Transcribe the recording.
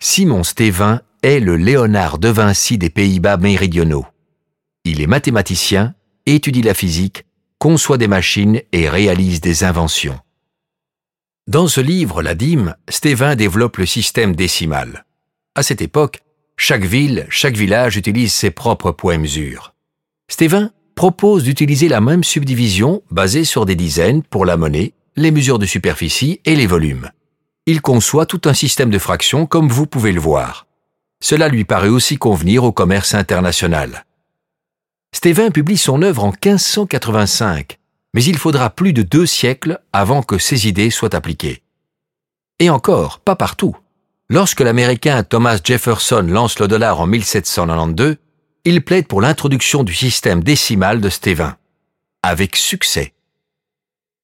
Simon Stevin est le Léonard de Vinci des Pays-Bas méridionaux. Il est mathématicien, étudie la physique, conçoit des machines et réalise des inventions. Dans ce livre, La Dîme, Stevin développe le système décimal. À cette époque, chaque ville, chaque village utilise ses propres poids et mesures. Stevin propose d'utiliser la même subdivision basée sur des dizaines pour la monnaie, les mesures de superficie et les volumes. Il conçoit tout un système de fractions comme vous pouvez le voir. Cela lui paraît aussi convenir au commerce international. Stevin publie son œuvre en 1585, mais il faudra plus de 2 siècles avant que ses idées soient appliquées. Et encore, pas partout. Lorsque l'Américain Thomas Jefferson lance le dollar en 1792, il plaide pour l'introduction du système décimal de Stevin. Avec succès.